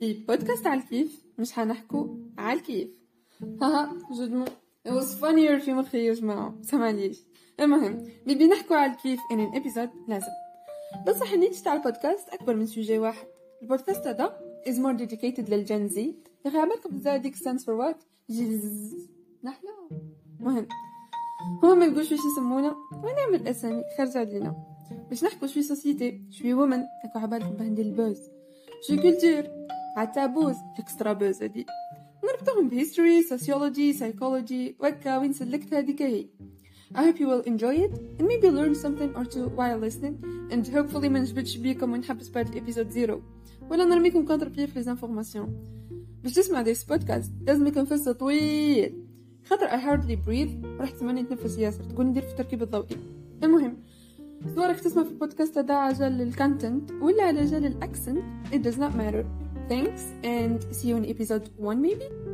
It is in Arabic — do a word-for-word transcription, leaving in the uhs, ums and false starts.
في بودكاست على الكيف مش حنحكوا على الكيف. هاها جد it was funnier في مخي يا جماعة، سمعليش. المهم بيبي نحكوا على الكيف in an episode لازم بصح نيجي على البودكاست أكبر من سوجي واحد. البودكاست هذا is more dedicated للجنزي. يا أخي عملكم بزاي ديك stands for what جيز نحلو. مهم هو ما نقول شوي يسمونا ونعمل أسامي خارجة علينا باش نحكوا شوي سوسيتي شوي وومن هكا عبالكم بهندي البوز شوي كولتور عتابوز اكسترا بوز هادي نربطهم بهيستوري سوسيولوجي سايكولوجي وكا وين سلكت هذيك هي. I hope you will enjoy it and maybe learn something or two while listening and hopefully ما نجبدش بيكم ونحبس بعد الابيزود زيرو ولا نرميكم كونتر بيه في ليزانفورماسيون. باش تسمع ديس بودكاست لازم يكون فصل طويل خاطر I hardly breathe وراح تسمعني نتنفس ياسر تقول ندير في التركيب الضوئي. المهم سواء تسمع في البودكاست هذا عجل الكونتنت ولا على جال الاكسنت it does not matter. Thanks and see you in episode one maybe.